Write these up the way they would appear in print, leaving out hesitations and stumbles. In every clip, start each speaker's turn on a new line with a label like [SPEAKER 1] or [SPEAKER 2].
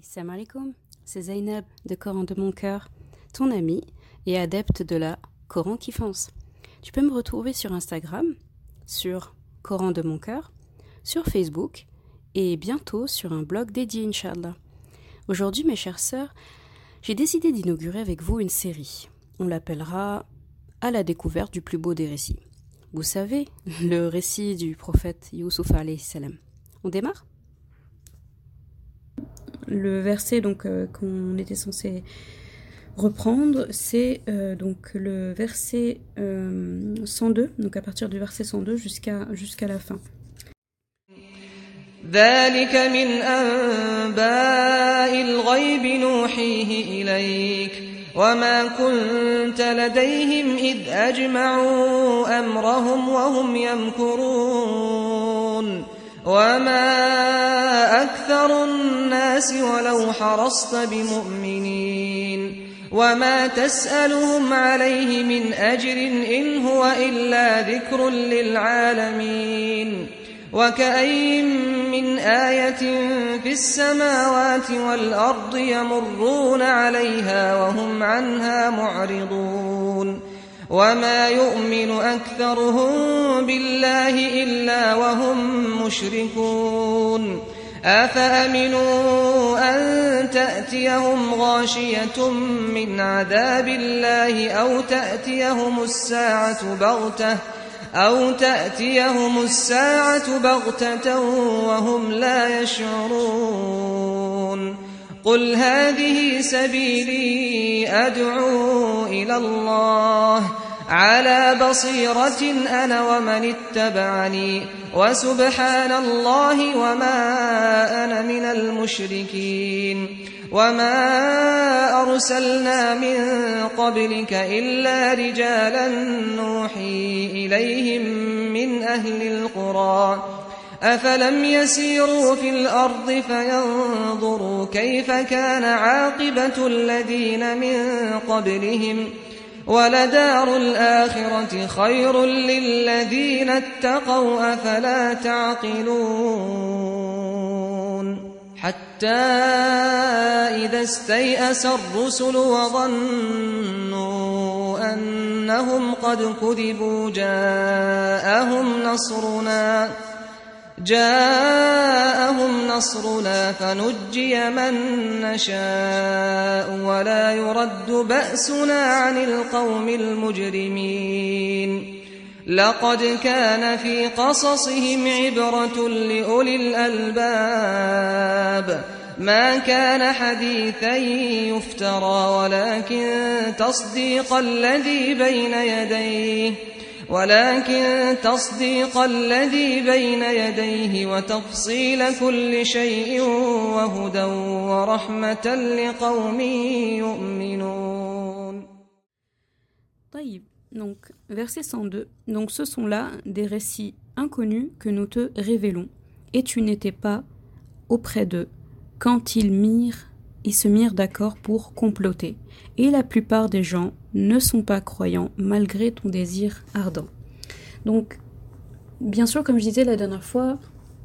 [SPEAKER 1] Salam alaikum, c'est Zainab de Coran de mon cœur, ton amie et adepte de la Coran qui fonce. Tu peux me retrouver sur Instagram, sur Coran de mon cœur, sur Facebook et bientôt sur un blog dédié, Inch'Allah. Aujourd'hui, mes chères sœurs, j'ai décidé d'inaugurer avec vous une série. On l'appellera À la découverte du plus beau des récits. Vous savez, le récit du prophète Youssouf alayhi salam. On démarre ? Le verset qu'on était censé reprendre, c'est donc le verset 102, donc à partir du verset 102 jusqu'à la fin.
[SPEAKER 2] ذلك من أنباء الغيب نوحيه إليك وما كنت لديهم إذ أجمعوا أمرهم وهم يمكرون وما أكثر الناس ولو حرصت بمؤمنين وما تسألهم عليه من أجر إن هو إلا ذكر للعالمين وكأين من آية في السماوات والأرض يمرون عليها وهم عنها معرضون وما يؤمن أكثرهم بالله إلا وهم مشركون أفأمنوا أن تأتيهم غاشية من عذاب الله أو تأتيهم الساعة بغتة وهم لا يشعرون قل هذه سبيلي أدعو إلى الله على بصيرة أنا ومن اتبعني وسبحان الله وما أنا من المشركين وما أرسلنا من قبلك إلا رجالا نوحي إليهم من أهل القرى أفلم يسيروا في الأرض فينظروا كيف كان عاقبة الذين من قبلهم ولدار الآخرة خير للذين اتقوا أفلا تعقلون حتى إذا استيأس الرسل وظنوا أنهم قد كذبوا جاءهم نصرنا فنجي من نشاء ولا يرد بأسنا عن القوم المجرمين لقد كان في قصصهم عبرة لأولي الألباب ما كان حديثا يفترى ولكن تصديق الذي بين يديه وتفصيل كل شيء وهدى ورحمة لقوم يؤمنون.
[SPEAKER 1] طيب, donc verset 102. Donc ce sont là des récits inconnus que nous te révélons. Et tu n'étais pas auprès d'eux quand ils se mirent d'accord pour comploter. Et la plupart des gens ne sont pas croyants malgré ton désir ardent. Donc, bien sûr, comme je disais la dernière fois,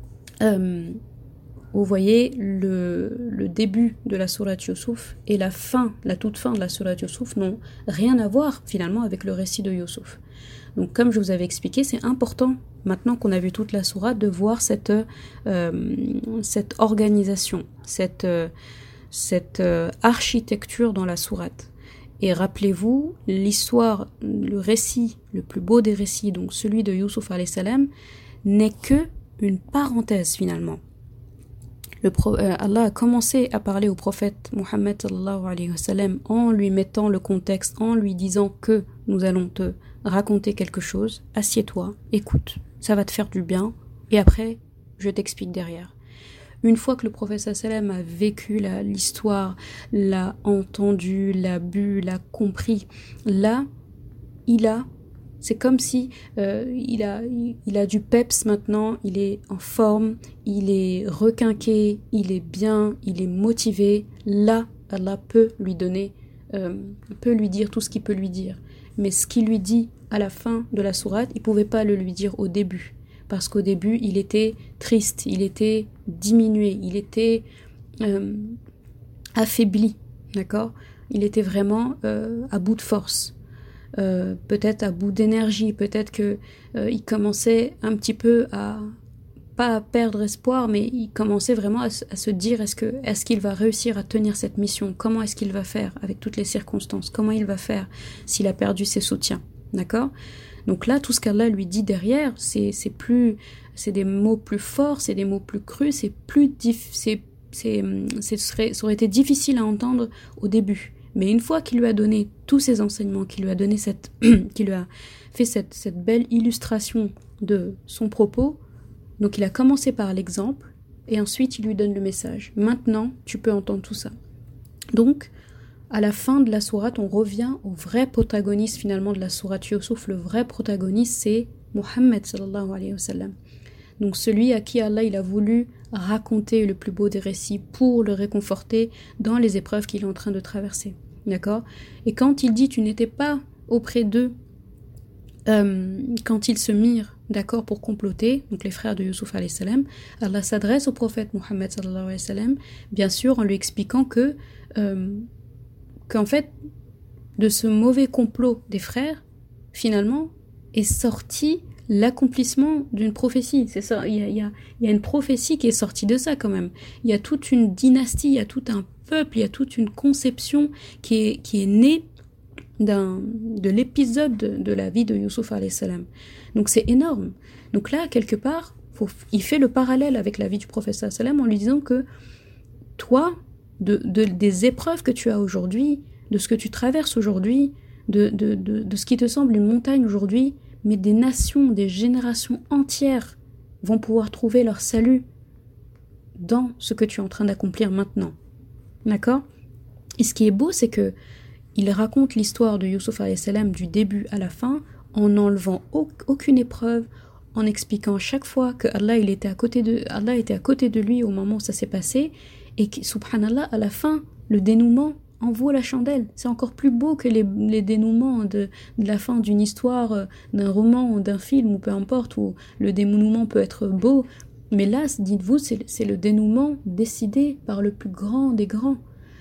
[SPEAKER 1] vous voyez le début de la sourate Youssouf et la toute fin de la sourate Youssouf n'ont rien à voir finalement avec le récit de Youssouf. Donc, comme je vous avais expliqué, c'est important, maintenant qu'on a vu toute la sourate, de voir cette organisation, cette architecture dans la sourate. Et rappelez-vous, l'histoire, le récit, le plus beau des récits, donc celui de Youssouf alayhi salam, n'est que une parenthèse finalement. Allah a commencé à parler au prophète Mohammed sallallahu alayhi wa sallam en lui mettant le contexte, en lui disant que nous allons te raconter quelque chose, assieds-toi, écoute, ça va te faire du bien, et après, je t'explique derrière. Une fois que le prophète sallam a vécu l'histoire, l'a entendu, l'a bu, l'a compris, là, c'est comme si il a du peps maintenant, il est en forme, il est requinqué, il est bien, il est motivé. Là, Allah peut lui dire tout ce qu'il peut lui dire. Mais ce qu'il lui dit à la fin de la sourate, il ne pouvait pas le lui dire au début. Parce qu'au début, il était triste, il était diminué, il était affaibli, d'accord? Il était vraiment à bout de force, peut-être à bout d'énergie, peut-être que il commençait un petit peu à pas à perdre espoir, mais il commençait vraiment à se dire est-ce qu'il va réussir à tenir cette mission? Comment est-ce qu'il va faire avec toutes les circonstances? Comment il va faire s'il a perdu ses soutiens? D'accord? Donc là, tout ce qu'Allah lui dit derrière, c'est des mots plus forts, c'est des mots plus crus, ça aurait été difficile à entendre au début. Mais une fois qu'il lui a donné tous ces enseignements, qu'il lui a donné qu'il lui a fait cette belle illustration de son propos, donc il a commencé par l'exemple, et ensuite il lui donne le message. Maintenant, tu peux entendre tout ça. Donc, à la fin de la sourate, on revient au vrai protagoniste finalement de la sourate Yusuf. Le vrai protagoniste, c'est Muhammad sallallahu alayhi wa sallam. Donc celui à qui Allah il a voulu raconter le plus beau des récits pour le réconforter dans les épreuves qu'il est en train de traverser. D'accord? Et quand il dit tu n'étais pas auprès d'eux, quand ils se mirent d'accord pour comploter, donc les frères de Yusuf alayhi salam, Allah s'adresse au prophète Muhammad sallallahu alayhi wa sallam, bien sûr en lui expliquant qu'en fait, de ce mauvais complot des frères, finalement, est sorti l'accomplissement d'une prophétie. C'est ça, il y a une prophétie qui est sortie de ça quand même. Il y a toute une dynastie, il y a tout un peuple, il y a toute une conception qui est née de l'épisode de la vie de Yusuf alayhi salam. Donc c'est énorme. Donc là, quelque part, il fait le parallèle avec la vie du prophète sallallahu alayhi wa sallam en lui disant que toi, des épreuves que tu as aujourd'hui, de ce que tu traverses aujourd'hui, de ce qui te semble une montagne aujourd'hui, mais des nations, des générations entières vont pouvoir trouver leur salut dans ce que tu es en train d'accomplir maintenant. D'accord? Et ce qui est beau, c'est que il raconte l'histoire de Yusuf alayhi salam du début à la fin en n'enlevant aucune épreuve, en expliquant chaque fois que Allah était à côté de lui au moment où ça s'est passé, et que, subhanallah, à la fin, le dénouement en vaut la chandelle. C'est encore plus beau que les dénouements de la fin d'une histoire, d'un roman ou d'un film, ou peu importe, où le dénouement peut être beau. Mais là, dites-vous, c'est le dénouement décidé par le plus grand des grands.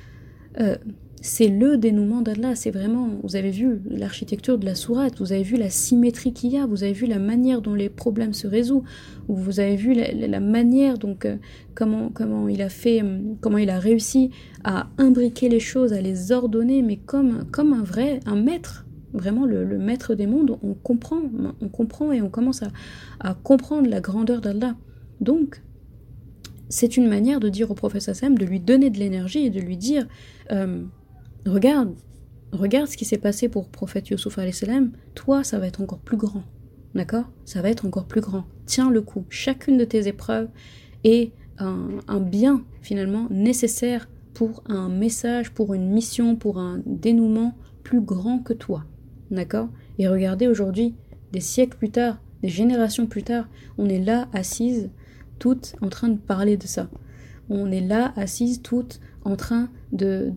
[SPEAKER 1] C'est le dénouement d'Allah, c'est vraiment, vous avez vu l'architecture de la sourate, vous avez vu la symétrie qu'il y a, vous avez vu la manière dont les problèmes se résolvent, vous avez vu la manière, donc comment il a réussi à imbriquer les choses, à les ordonner, mais comme un maître, vraiment le maître des mondes. On comprend et on commence à comprendre la grandeur d'Allah. Donc, c'est une manière de dire au prophète Sassam, de lui donner de l'énergie et de lui dire regarde ce qui s'est passé pour le prophète Yusuf alayhi salam, toi ça va être encore plus grand, d'accord? Ça va être encore plus grand, tiens le coup, chacune de tes épreuves est un bien finalement nécessaire pour un message, pour une mission, pour un dénouement plus grand que toi, d'accord? Et regardez aujourd'hui, des siècles plus tard, des générations plus tard, on est là assises, toutes en train de parler de ça. On est là assises toutes en train de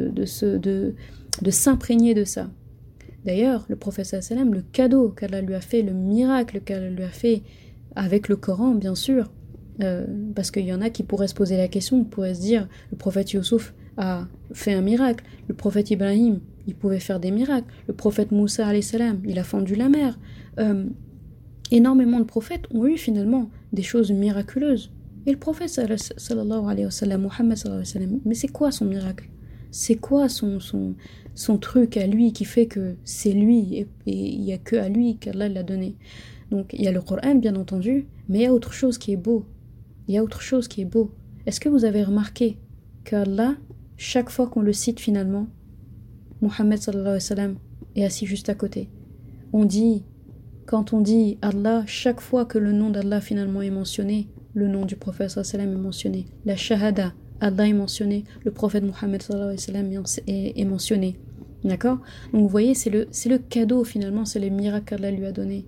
[SPEAKER 1] s'imprégner de ça. D'ailleurs, le prophète sallam, le cadeau qu'Allah lui a fait, le miracle qu'Allah lui a fait avec le Coran, bien sûr, parce qu'il y en a qui pourraient se poser la question, pourraient se dire, le prophète Yusuf a fait un miracle, le prophète Ibrahim, il pouvait faire des miracles, le prophète Moussa alayhi salam, il a fendu la mer. Énormément de prophètes ont eu finalement des choses miraculeuses. Et le prophète sallallahu alayhi wa sallam, Muhammad sallallahu alayhi wa sallam, mais c'est quoi son miracle? C'est quoi son truc à lui qui fait que c'est lui et il n'y a que à lui qu'Allah l'a donné? Donc il y a le Coran bien entendu, mais il y a autre chose qui est beau. Est-ce que vous avez remarqué qu'Allah, chaque fois qu'on le cite finalement, Muhammad sallallahu alayhi wa sallam est assis juste à côté. Quand on dit Allah, chaque fois que le nom d'Allah finalement est mentionné, le nom du prophète sallallahu alayhi wa sallam est mentionné. La shahada, Allah est mentionné. Le prophète Muhammad sallallahu alayhi wa sallam est mentionné. D'accord? Donc vous voyez, c'est le cadeau finalement, c'est le miracle qu'Allah lui a donné.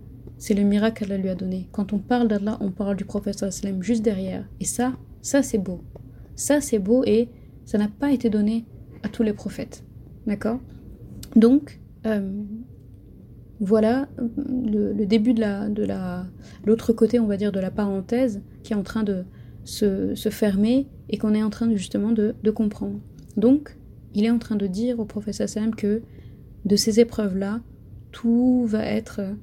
[SPEAKER 1] Quand on parle d'Allah, on parle du prophète sallallahu alayhi wa sallam juste derrière. Et ça c'est beau. Ça c'est beau et ça n'a pas été donné à tous les prophètes. D'accord? Donc, voilà le début de l'autre côté, on va dire, de la parenthèse qui est en train de se fermer et qu'on est en train justement de comprendre. Donc, il est en train de dire au prophète sallam que de ces épreuves-là, tout va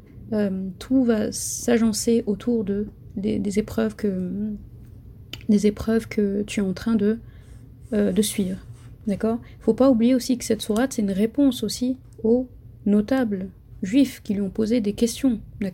[SPEAKER 1] s'agencer autour des épreuves que tu es en train de suivre. D'accord ? Il ne faut pas oublier aussi que cette sourate, c'est une réponse aussi aux notables juifs qui lui ont posé des questions. D'accord ?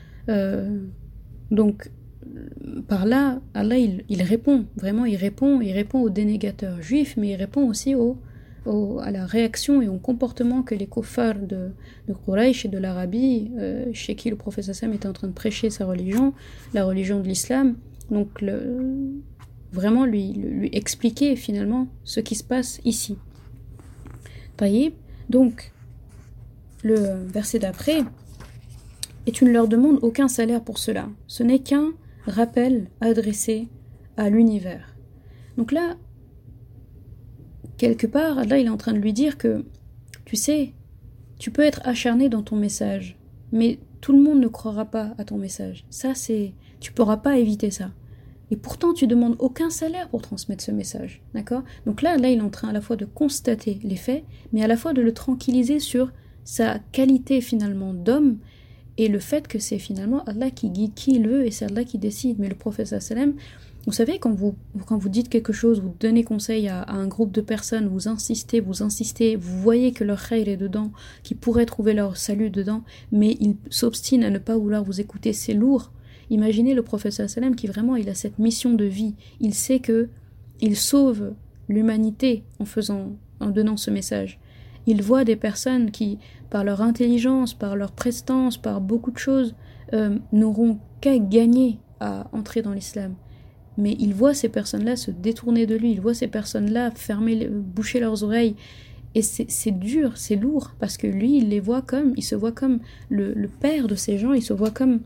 [SPEAKER 1] Donc, par là, Allah, il répond. Vraiment, il répond aux dénégateurs juifs, mais il répond aussi à la réaction et au comportement que les kuffars de Quraysh et de l'Arabie, chez qui le prophète sallam était en train de prêcher sa religion, la religion de l'islam. Donc, vraiment lui expliquer finalement ce qui se passe ici. Taïb. Donc, le verset d'après, et tu ne leur demandes aucun salaire pour cela. Ce n'est qu'un rappel adressé à l'univers. Donc là, quelque part, Allah il est en train de lui dire que, tu sais, tu peux être acharné dans ton message, mais tout le monde ne croira pas à ton message. Ça, tu ne pourras pas éviter ça. Et pourtant, tu ne demandes aucun salaire pour transmettre ce message. D'accord ? Donc là, il est en train à la fois de constater les faits, mais à la fois de le tranquilliser sur sa qualité finalement d'homme, et le fait que c'est finalement Allah qui guide qui il veut et c'est Allah qui décide. Mais le prophète sallam, vous savez, quand vous dites quelque chose, vous donnez conseil à un groupe de personnes, vous insistez, vous voyez que leur khayr est dedans, qu'ils pourraient trouver leur salut dedans, mais ils s'obstinent à ne pas vouloir vous écouter, c'est lourd. Imaginez le prophète sallam qui vraiment il a cette mission de vie, il sait que il sauve l'humanité en donnant ce message. Il voit des personnes qui, par leur intelligence, par leur prestance, par beaucoup de choses, n'auront qu'à gagner à entrer dans l'islam. Mais il voit ces personnes-là se détourner de lui, il voit ces personnes-là boucher leurs oreilles. Et c'est dur, c'est lourd, parce que lui, il se voit comme le père de ces gens, il se voit comme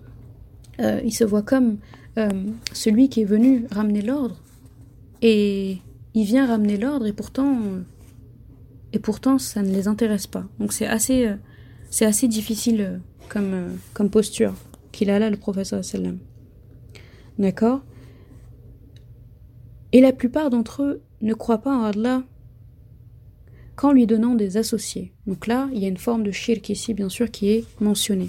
[SPEAKER 1] celui qui est venu ramener l'ordre. Et il vient ramener l'ordre, et pourtant ça ne les intéresse pas. Donc c'est assez difficile comme posture qu'il a là, le prophète sallam. D'accord ? Et la plupart d'entre eux ne croient pas en Allah qu'en lui donnant des associés. Donc là, il y a une forme de shirk ici, bien sûr, qui est mentionnée.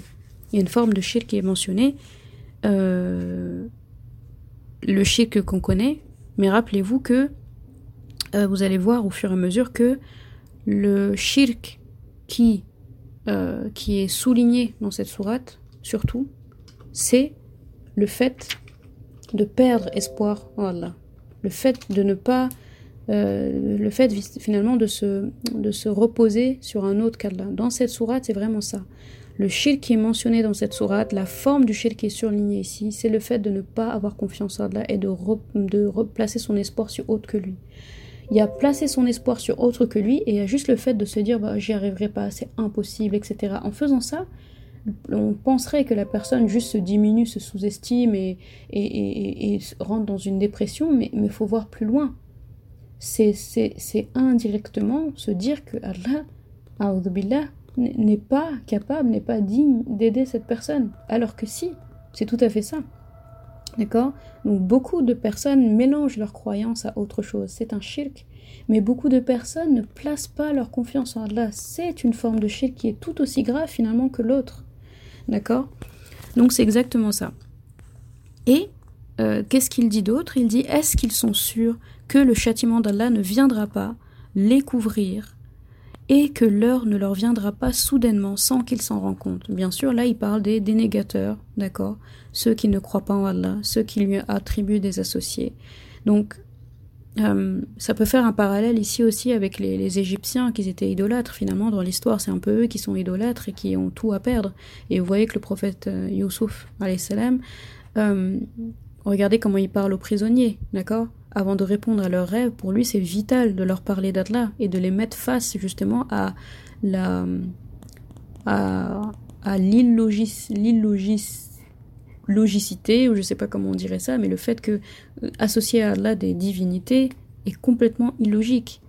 [SPEAKER 1] Le shirk qu'on connaît, mais rappelez-vous que vous allez voir au fur et à mesure que le shirk qui est souligné dans cette sourate, surtout, c'est le fait de perdre espoir en Allah. Le fait de ne pas... le fait finalement de se reposer sur un autre qu'Allah. Dans cette sourate, c'est vraiment ça. Le shirk qui est mentionné dans cette sourate, la forme du shirk qui est surlignée ici, c'est le fait de ne pas avoir confiance en Allah et de replacer son espoir sur autre que lui. Il y a placé son espoir sur autre que lui et il y a juste le fait de se dire j'y arriverai pas, c'est impossible, etc. En faisant ça, on penserait que la personne juste se diminue, se sous-estime et rentre dans une dépression, mais il faut voir plus loin. C'est indirectement se dire que Allah, a'udhu billah, n'est pas capable, n'est pas digne d'aider cette personne. Alors que si, c'est tout à fait ça. D'accord ? Donc beaucoup de personnes mélangent leur croyance à autre chose. C'est un shirk. Mais beaucoup de personnes ne placent pas leur confiance en Allah. C'est une forme de shirk qui est tout aussi grave finalement que l'autre. D'accord ? Donc c'est exactement ça. Et qu'est-ce qu'il dit d'autre ? Il dit, est-ce qu'ils sont sûrs que le châtiment d'Allah ne viendra pas les couvrir et que l'heure ne leur viendra pas soudainement sans qu'ils s'en rendent compte. Bien sûr, là, il parle des dénégateurs, d'accord ? Ceux qui ne croient pas en Allah, ceux qui lui attribuent des associés. Donc, ça peut faire un parallèle ici aussi avec les Égyptiens qui étaient idolâtres. Finalement, dans l'histoire, c'est un peu eux qui sont idolâtres et qui ont tout à perdre. Et vous voyez que le prophète Youssouf, alayhi salam, regardez comment il parle aux prisonniers, d'accord ? Avant de répondre à leurs rêves, pour lui, c'est vital de leur parler d'Allah et de les mettre face justement à l'illogicité, ou je sais pas comment on dirait ça, mais le fait que associer à Allah des divinités est complètement illogique.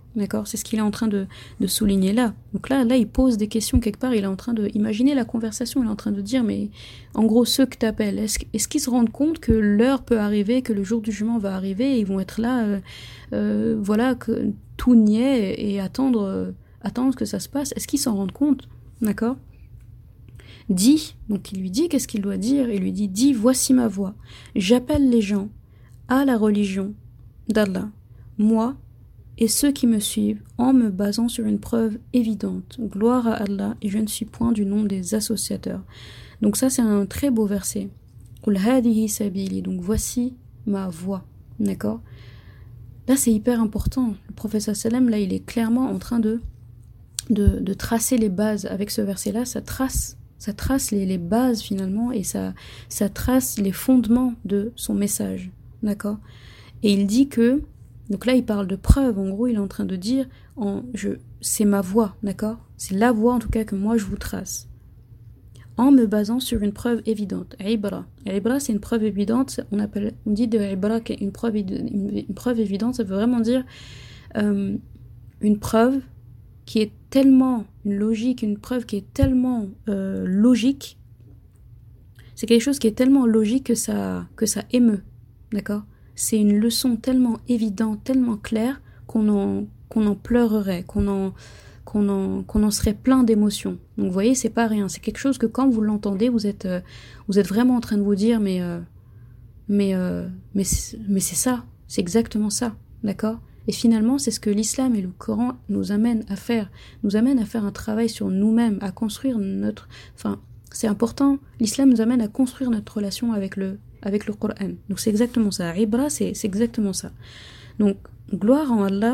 [SPEAKER 1] D'accord? C'est ce qu'il est en train de souligner là. Donc là, il pose des questions quelque part, il est en train de imaginer la conversation, il est en train de dire, mais en gros, ceux que t'appelles, est-ce qu'ils se rendent compte que l'heure peut arriver, que le jour du jugement va arriver, et ils vont être là, voilà, que tout niais et attendre que ça se passe. Est-ce qu'ils s'en rendent compte? D'accord? Dis, donc il lui dit, qu'est-ce qu'il doit dire? Il lui dit, dis, voici ma voix. J'appelle les gens à la religion d'Allah. Moi, et ceux qui me suivent en me basant sur une preuve évidente. Gloire à Allah, et je ne suis point du nom des associateurs. Donc ça, c'est un très beau verset. Qul hadihi sabili. Donc voici ma voie. D'accord? Là, c'est hyper important. Le prophète sallam, là, il est clairement en train de tracer les bases. Avec ce verset-là, ça trace les bases finalement, et ça trace les fondements de son message. D'accord? Et il dit que, donc là il parle de preuve, en gros il est en train de dire, c'est ma voix, d'accord? C'est la voix en tout cas que moi je vous trace, en me basant sur une preuve évidente. Ibra. Ibra, c'est une preuve évidente, on dit de Ibra une preuve évidente, ça veut vraiment dire une preuve qui est tellement logique, une preuve qui est tellement logique, c'est quelque chose qui est tellement logique que ça émeut, d'accord? C'est une leçon tellement évidente, tellement claire qu'on en pleurerait, qu'on en serait plein d'émotions. Donc vous voyez, c'est pas rien, c'est quelque chose que quand vous l'entendez, vous êtes vraiment en train de vous dire mais c'est ça, c'est exactement ça, d'accord? Et finalement, c'est ce que l'islam et le Coran nous amènent à faire un travail sur nous-mêmes, à construire c'est important, l'islam nous amène à construire notre relation avec le Coran. Donc c'est exactement ça. Ibra, c'est exactement ça. Donc, gloire à Allah,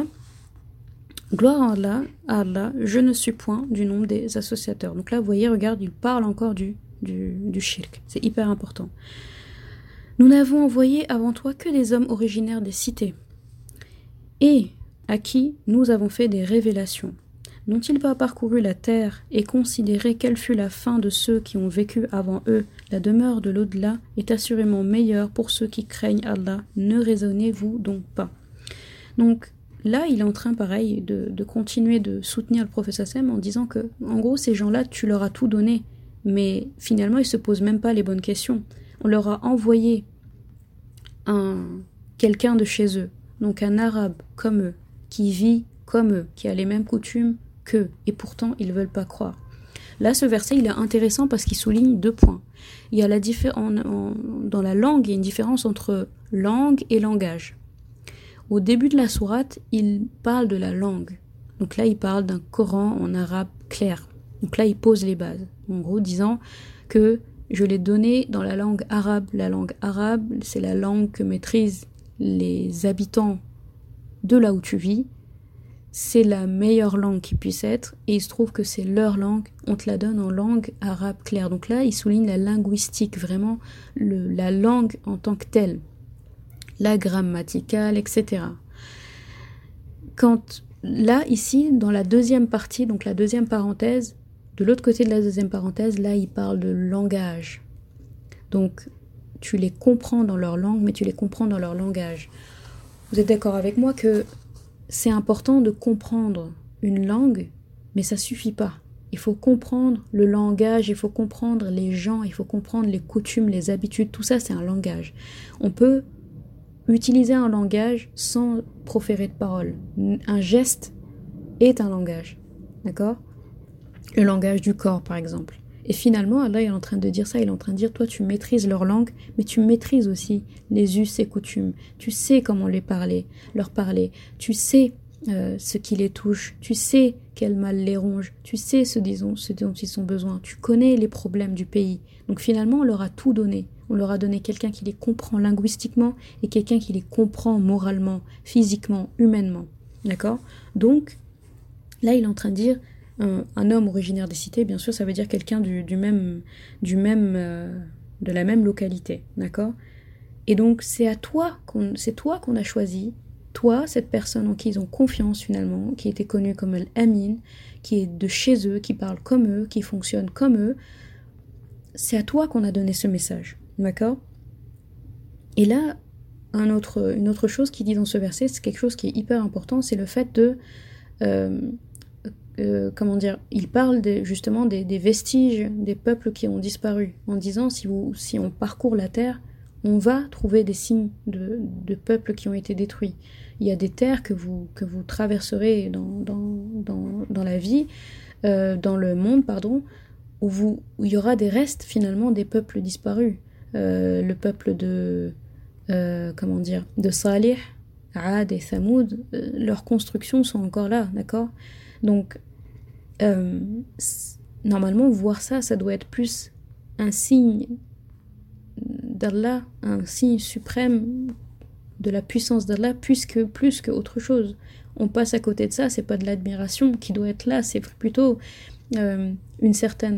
[SPEAKER 1] je ne suis point du nombre des associateurs. Donc là, vous voyez, regarde, il parle encore du shirk. C'est hyper important. Nous n'avons envoyé avant toi que des hommes originaires des cités, et à qui nous avons fait des révélations. N'ont-ils pas parcouru la terre et considéré quelle fut la fin de ceux qui ont vécu avant eux? La demeure de l'au-delà est assurément meilleure pour ceux qui craignent Allah. Ne raisonnez-vous donc pas? Donc là, il est en train, pareil, de continuer de soutenir le prophète Sassem en disant que, en gros, ces gens-là, tu leur as tout donné, mais finalement, ils se posent même pas les bonnes questions. On leur a envoyé quelqu'un de chez eux, donc un arabe comme eux, qui vit comme eux, qui a les mêmes coutumes qu'eux, et pourtant ils ne veulent pas croire. Là, ce verset, il est intéressant parce qu'il souligne 2 points. Il y a dans la langue, il y a une différence entre langue et langage. Au début de la sourate, il parle de la langue. Donc là, il parle d'un Coran en arabe clair. Donc là, il pose les bases. En gros, disant que je l'ai donné dans la langue arabe. La langue arabe, c'est la langue que maîtrisent les habitants de là où tu vis. C'est la meilleure langue qui puisse être, et il se trouve que c'est leur langue, on te la donne en langue arabe claire. Donc là, il souligne la linguistique, vraiment la langue en tant que telle, la grammaticale, etc. Là, ici, dans la deuxième partie, donc la deuxième parenthèse, de l'autre côté de la deuxième parenthèse, là, il parle de langage. Donc, tu les comprends dans leur langue, mais tu les comprends dans leur langage. Vous êtes d'accord avec moi que c'est important de comprendre une langue, mais ça suffit pas. Il faut comprendre le langage, il faut comprendre les gens, il faut comprendre les coutumes, les habitudes, tout ça c'est un langage. On peut utiliser un langage sans proférer de paroles. Un geste est un langage, d'accord? Le langage du corps par exemple. Et finalement, Allah est en train de dire ça, il est en train de dire, toi tu maîtrises leur langue, mais tu maîtrises aussi les us et coutumes. Tu sais comment leur parler. Tu sais ce qui les touche. Tu sais quel mal les ronge. Tu sais ce dont ils ont besoin. Tu connais les problèmes du pays. Donc finalement, on leur a tout donné. On leur a donné quelqu'un qui les comprend linguistiquement et quelqu'un qui les comprend moralement, physiquement, humainement. D'accord? Donc, là, il est en train de dire, un homme originaire des cités, bien sûr, ça veut dire quelqu'un de la même localité, d'accord? Et donc, c'est toi qu'on a choisi, toi, cette personne en qui ils ont confiance finalement, qui était connue comme Al-Amin, qui est de chez eux, qui parle comme eux, qui fonctionne comme eux, c'est à toi qu'on a donné ce message, d'accord? Et là, une autre chose qu'il dit dans ce verset, c'est quelque chose qui est hyper important, c'est le fait de il parle justement des vestiges des peuples qui ont disparu, en disant si on parcourt la terre, on va trouver des signes de peuples qui ont été détruits. Il y a des terres que vous traverserez dans la vie, dans le monde, pardon, où il y aura des restes finalement des peuples disparus. Le peuple de Salih, Aad et Thamoud, leurs constructions sont encore là, d'accord? Donc, normalement, voir ça doit être plus un signe d'Allah, un signe suprême de la puissance d'Allah, plus que autre chose. On passe à côté de ça, c'est pas de l'admiration qui doit être là, c'est plutôt une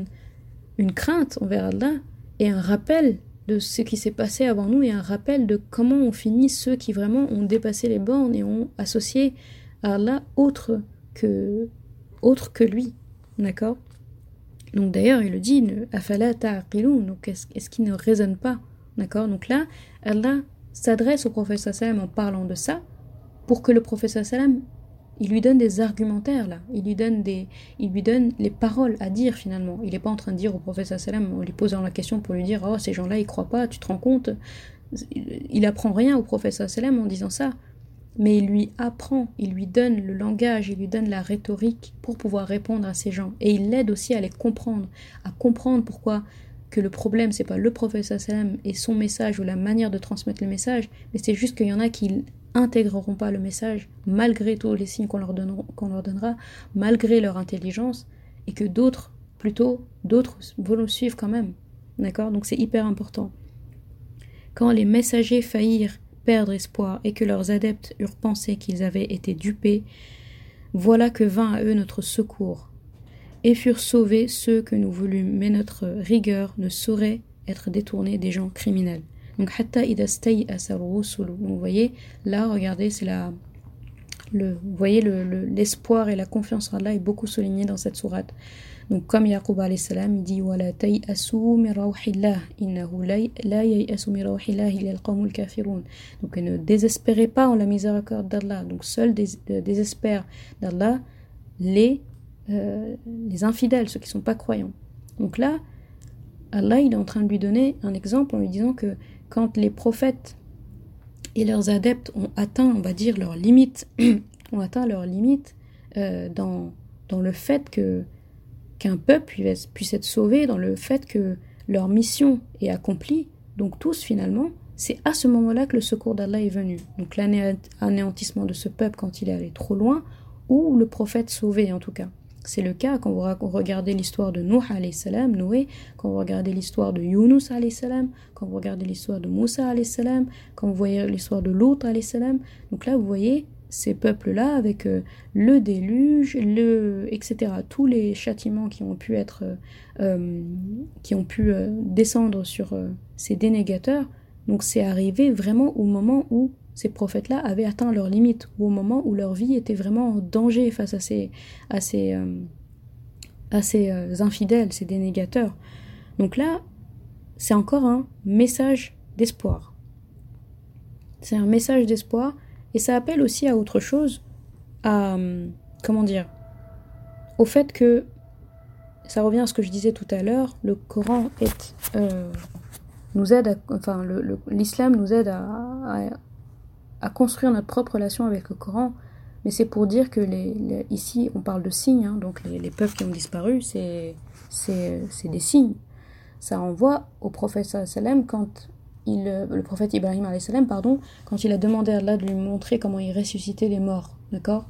[SPEAKER 1] crainte envers Allah et un rappel de ce qui s'est passé avant nous et un rappel de comment on finit ceux qui vraiment ont dépassé les bornes et ont associé à Allah autre que lui, d'accord? Donc d'ailleurs il le dit, afala ta'aqilun, donc est-ce qu'il ne raisonne pas, d'accord? Donc là Allah s'adresse au prophète sallam en parlant de ça pour que le prophète sallam il lui donne des argumentaires là, il lui donne les paroles à dire finalement. Il n'est pas en train de dire au prophète sallam en lui posant la question pour lui dire oh ces gens-là ils croient pas, tu te rends compte? Il apprend rien au prophète sallam en disant ça. Mais il lui apprend, il lui donne le langage, il lui donne la rhétorique pour pouvoir répondre à ces gens. Et il l'aide aussi à les comprendre, à comprendre pourquoi que le problème, c'est pas le prophète sallam et son message ou la manière de transmettre le message, mais c'est juste qu'il y en a qui intégreront pas le message, malgré tous les signes qu'on leur donnera, malgré leur intelligence, et que d'autres vont le suivre quand même. D'accord? Donc c'est hyper important. Quand les messagers faillirent perdre espoir et que leurs adeptes eurent pensé qu'ils avaient été dupés, voilà que vint à eux notre secours, et furent sauvés ceux que nous voulûmes, mais notre rigueur ne saurait être détournée des gens criminels. Donc, hatta idha stay'asa ar-rusulu. Donc, vous voyez, là, regardez, c'est vous voyez l'espoir et la confiance en Allah est beaucoup souligné dans cette sourate. Donc, comme Yaqub alayhi salam, il dit wala tay'asu min rawhillah innahu la yay'asu min rawhillah illa al-qawmul kafirun. Donc, ne désespérez pas en la miséricorde d'Allah. Donc, seuls désespèrent d'Allah les infidèles, ceux qui ne sont pas croyants. Donc là, Allah il est en train de lui donner un exemple en lui disant que quand les prophètes et leurs adeptes ont atteint, on va dire, leurs limites, dans le fait qu'un peuple puisse être sauvé, dans le fait que leur mission est accomplie, donc tous finalement, c'est à ce moment-là que le secours d'Allah est venu. Donc l'anéantissement de ce peuple quand il est allé trop loin, ou le prophète sauvé en tout cas. C'est le cas quand vous regardez l'histoire de Noé, quand vous regardez l'histoire de Yunus, quand vous regardez l'histoire de Moussa, quand vous voyez l'histoire de Lot, donc là vous voyez ces peuples-là avec le déluge, etc. Tous les châtiments qui ont pu descendre sur ces dénégateurs. Donc c'est arrivé vraiment au moment où ces prophètes-là avaient atteint leurs limites, ou au moment où leur vie était vraiment en danger face à ces infidèles, ces dénégateurs. Donc là, c'est encore un message d'espoir. C'est un message d'espoir, et ça appelle aussi à autre chose, au fait que, ça revient à ce que je disais tout à l'heure, le Coran l'islam nous aide à construire notre propre relation avec le Coran, mais c'est pour dire que ici on parle de signes, donc les peuples qui ont disparu, c'est des signes. Ça renvoie au prophète sallam quand le prophète Ibrahim alayhi salam, quand il a demandé à Allah de lui montrer comment il ressuscitait les morts, d'accord?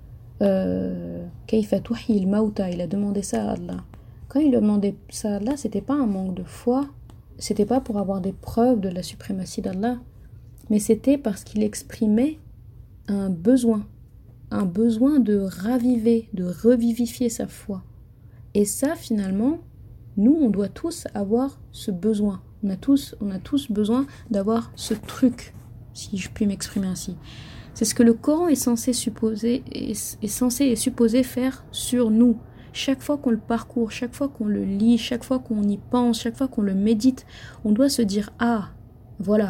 [SPEAKER 1] Kayfa tuhyi al-mauta, il a demandé ça à Allah. Quand il a demandé ça à Allah, c'était pas un manque de foi, c'était pas pour avoir des preuves de la suprématie d'Allah, mais c'était parce qu'il exprimait un besoin de raviver, de revivifier sa foi. Et ça, finalement, nous, on doit tous avoir ce besoin. On a tous besoin d'avoir ce truc, si je puis m'exprimer ainsi. C'est ce que le Coran est censé et supposé faire sur nous. Chaque fois qu'on le parcourt, chaque fois qu'on le lit, chaque fois qu'on y pense, chaque fois qu'on le médite, on doit se dire « Ah, voilà,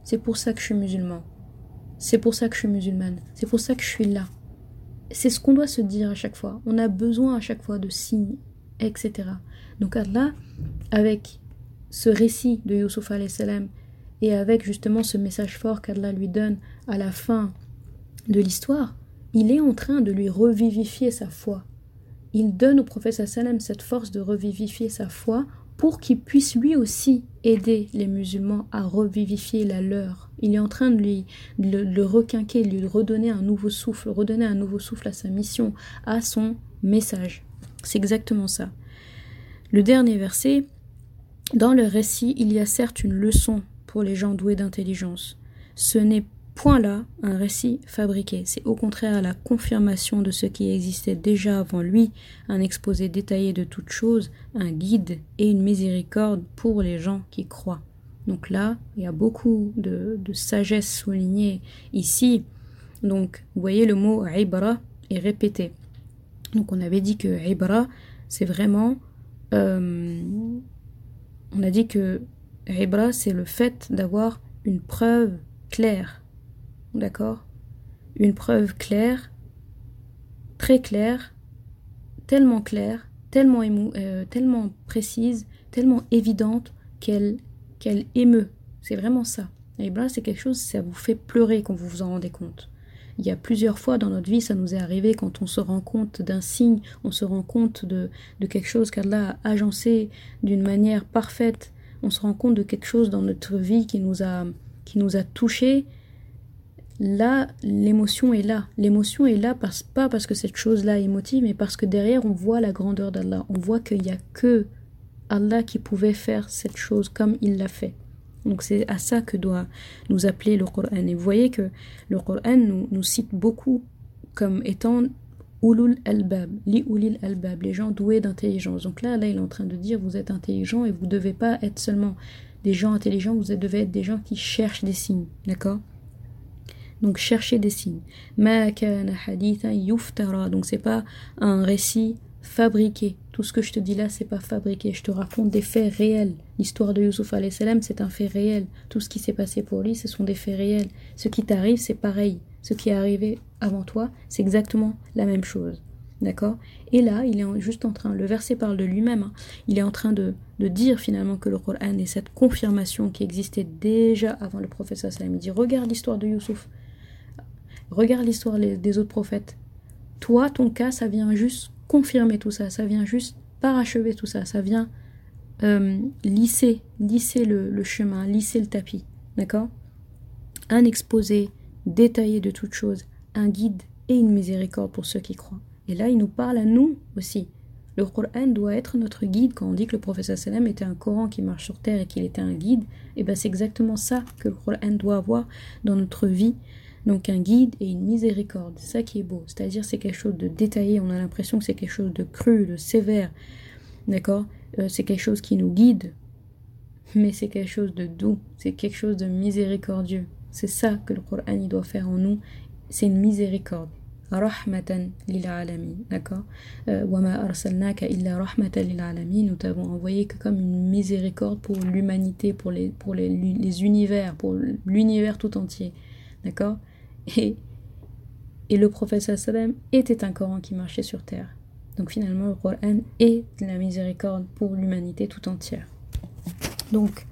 [SPEAKER 1] c'est pour ça que je suis musulman. C'est pour ça que je suis musulmane. C'est pour ça que je suis là. C'est ce qu'on doit se dire à chaque fois. On a besoin à chaque fois de signes, etc. Donc Allah, avec ce récit de Youssouf alayhi salam et avec justement ce message fort qu'Allah lui donne à la fin de l'histoire, il est en train de lui revivifier sa foi. Il donne au prophète sallam cette force de revivifier sa foi pour qu'il puisse lui aussi aider les musulmans à revivifier la leur. Il est en train de le requinquer, de lui redonner un nouveau souffle à sa mission, à son message. C'est exactement ça. Le dernier verset, dans le récit, il y a certes une leçon pour les gens doués d'intelligence. Ce n'est point là un récit fabriqué, c'est au contraire la confirmation de ce qui existait déjà avant lui, un exposé détaillé de toutes choses, un guide et une miséricorde pour les gens qui croient. Donc là, il y a beaucoup de sagesse soulignée ici. Donc, vous voyez, le mot « ibra » est répété. Donc, on avait dit que « ibra », c'est vraiment... on a dit que « ibra », c'est le fait d'avoir une preuve claire. D'accord? Une preuve claire, très claire, tellement précise, tellement évidente qu'elle émeut. C'est vraiment ça. Et bien c'est quelque chose, ça vous fait pleurer quand vous vous en rendez compte. Il y a plusieurs fois dans notre vie, ça nous est arrivé quand on se rend compte d'un signe, on se rend compte de quelque chose qu'Allah a agencé d'une manière parfaite, on se rend compte de quelque chose dans notre vie qui nous a touchés. Là, l'émotion est là. L'émotion est là pas parce que cette chose-là est émotive, mais parce que derrière, on voit la grandeur d'Allah. On voit qu'il n'y a que Allah qui pouvait faire cette chose comme il l'a fait. Donc c'est à ça que doit nous appeler le Coran. Et vous voyez que le Coran nous cite beaucoup comme étant ulul albab, li ulil albab, les gens doués d'intelligence. Donc là, il est en train de dire, vous êtes intelligents et vous ne devez pas être seulement des gens intelligents, vous devez être des gens qui cherchent des signes. D'accord? Donc cherchez des signes. Ma kana hadithan yuftara. Donc c'est pas un récit fabriqué. Tout ce que je te dis là, c'est pas fabriqué. Je te raconte des faits réels. L'histoire de Youssouf alayhi salam, c'est un fait réel. Tout ce qui s'est passé pour lui, ce sont des faits réels. Ce qui t'arrive, c'est pareil. Ce qui est arrivé avant toi, c'est exactement la même chose. D'accord? Et là, il est juste en train, le verset parle de lui-même, hein, il est en train de dire finalement que le Coran est cette confirmation qui existait déjà avant le prophète sallallahu alayhi wa sallam. Il dit, regarde l'histoire de Youssouf. Regarde l'histoire des autres prophètes. Toi, ton cas, ça vient juste confirmer tout ça. Ça vient juste parachever tout ça. Ça vient lisser le chemin, lisser le tapis. D'accord? Un exposé détaillé de toutes choses, un guide et une miséricorde pour ceux qui croient. Et là, il nous parle à nous aussi. Le Coran doit être notre guide. Quand on dit que le prophète sallam était un Coran qui marche sur terre et qu'il était un guide, et ben c'est exactement ça que le Coran doit avoir dans notre vie. Donc un guide et une miséricorde, c'est ça qui est beau. C'est-à-dire c'est quelque chose de détaillé, on a l'impression que c'est quelque chose de cru, de sévère. D'accord? C'est quelque chose qui nous guide, mais c'est quelque chose de doux, c'est quelque chose de miséricordieux. C'est ça que le Coran il doit faire en nous, c'est une miséricorde. Rahmatan lil alamin, d'accord? Wa ma arsalnaka illa rahmatan lil alamin, nous t'avons envoyé que comme une miséricorde pour l'humanité, pour les univers, pour l'univers tout entier. D'accord? Et le prophète sallam était un Coran qui marchait sur terre. Donc finalement le Coran est la miséricorde pour l'humanité tout entière. Donc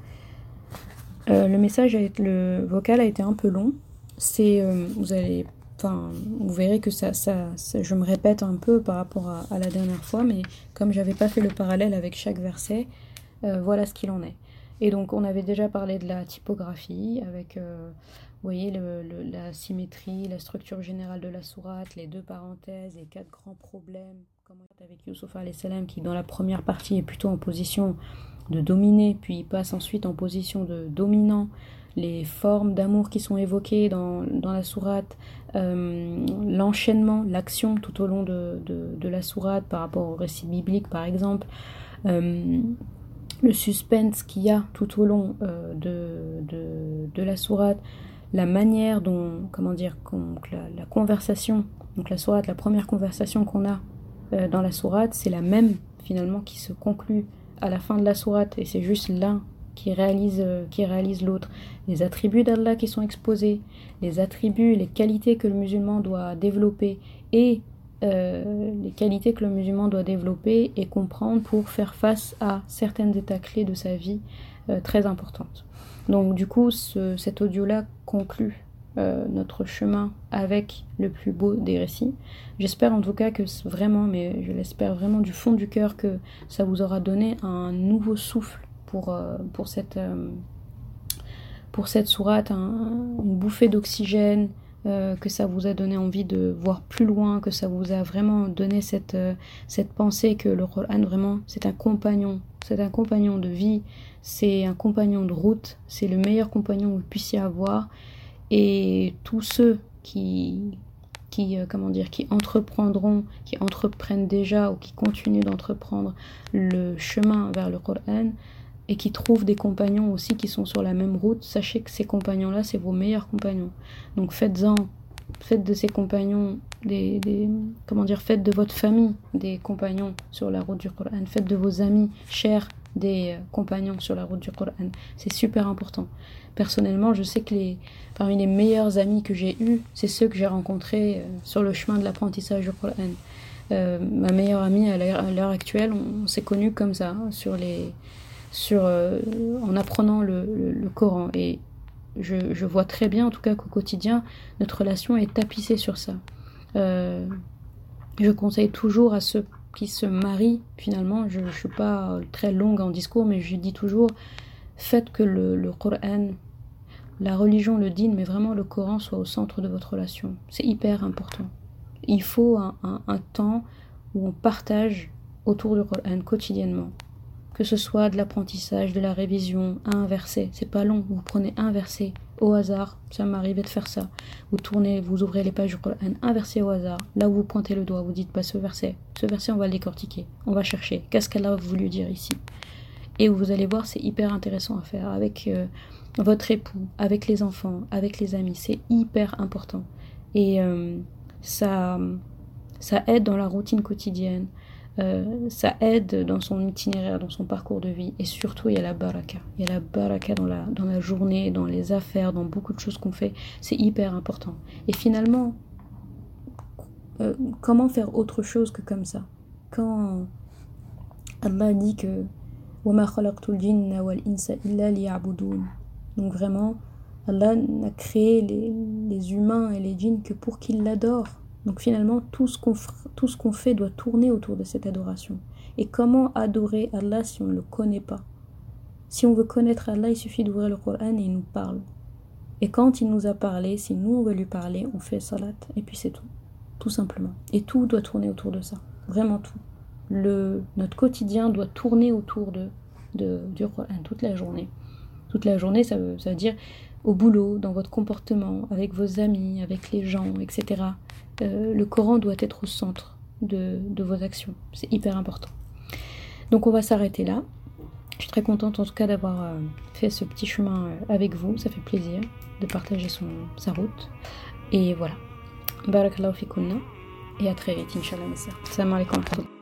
[SPEAKER 1] le vocal a été un peu long. Vous verrez que ça, je me répète un peu par rapport à la dernière fois, mais comme j'avais pas fait le parallèle avec chaque verset, voilà ce qu'il en est. Et donc on avait déjà parlé de la typographie avec vous voyez la symétrie, la structure générale de la sourate, les deux parenthèses, les 4 grands problèmes, comment avec Youssouf alayhi salam qui dans la première partie est plutôt en position de dominer, puis il passe ensuite en position de dominant, les formes d'amour qui sont évoquées dans la sourate, l'enchaînement, l'action tout au long de la sourate par rapport au récit biblique par exemple, le suspense qu'il y a tout au long de la sourate, la manière dont, la conversation, donc la sourate, la première conversation qu'on a dans la sourate, c'est la même finalement qui se conclut à la fin de la sourate, et c'est juste l'un qui réalise l'autre, les attributs d'Allah qui sont exposés, les attributs, les qualités que le musulman doit développer et les qualités que le musulman doit développer et comprendre pour faire face à certaines états clés de sa vie très importantes. Donc du coup, cet audio-là conclut notre chemin avec le plus beau des récits. J'espère en tout cas que vraiment, mais je l'espère vraiment du fond du cœur, que ça vous aura donné un nouveau souffle pour cette sourate, une bouffée d'oxygène, que ça vous a donné envie de voir plus loin, que ça vous a vraiment donné cette pensée que le Coran vraiment c'est un compagnon de vie, c'est un compagnon de route, c'est le meilleur compagnon que vous puissiez avoir. Et tous ceux qui entreprennent déjà ou qui continuent d'entreprendre le chemin vers le Coran et qui trouvent des compagnons aussi qui sont sur la même route, sachez que ces compagnons-là, c'est vos meilleurs compagnons. Donc faites de ces compagnons faites de votre famille des compagnons sur la route du Coran, faites de vos amis chers des compagnons sur la route du Coran. C'est super important. Personnellement, je sais que parmi les meilleurs amis que j'ai eus, c'est ceux que j'ai rencontrés sur le chemin de l'apprentissage du Coran. Ma meilleure amie à l'heure actuelle, on s'est connus comme ça, en apprenant le Coran. Et je vois très bien, en tout cas, qu'au quotidien, notre relation est tapissée sur ça. Je conseille toujours à ceux qui se marient, finalement, je ne suis pas très longue en discours, mais je dis toujours, faites que le Coran, la religion, le dîn, mais vraiment le Coran soit au centre de votre relation. C'est hyper important. Il faut un temps où on partage autour du Coran quotidiennement. Que ce soit de l'apprentissage, de la révision, un verset, c'est pas long, vous prenez un verset au hasard, ça m'arrivait de faire ça, vous ouvrez les pages du Coran, un verset au hasard, là où vous pointez le doigt, vous dites ce verset on va le décortiquer, on va chercher, qu'est-ce qu'elle a voulu dire ici, et vous allez voir, c'est hyper intéressant à faire avec votre époux, avec les enfants, avec les amis, c'est hyper important, et ça aide dans la routine quotidienne. Ça aide dans son itinéraire, dans son parcours de vie, et surtout il y a la baraka. Il y a la baraka dans la journée, dans les affaires, dans beaucoup de choses qu'on fait. C'est hyper important. Et finalement, comment faire autre chose que comme ça? Quand Allah dit que وَمَا خَلَقْتُ الْجِنَّ وَالْإِنسَ إِلَّا لِيَعْبُدُونَ. Donc vraiment, Allah n'a créé les humains et les djinns que pour qu'ils l'adorent. Donc finalement, tout ce qu'on fait doit tourner autour de cette adoration. Et comment adorer Allah si on ne le connaît pas? Si on veut connaître Allah, il suffit d'ouvrir le Coran et il nous parle. Et quand il nous a parlé, si nous on veut lui parler, on fait salat. Et puis c'est tout simplement. Et tout doit tourner autour de ça. Vraiment tout. Notre quotidien doit tourner autour du Coran toute la journée. Toute la journée, ça veut dire au boulot, dans votre comportement, avec vos amis, avec les gens, etc. Le Coran doit être au centre de vos actions. C'est hyper important. Donc on va s'arrêter là. Je suis très contente en tout cas d'avoir fait ce petit chemin avec vous. Ça fait plaisir de partager sa route. Et voilà. Barakallahu fikunna. Et à très vite, Inch'Allah. Salam alaikum.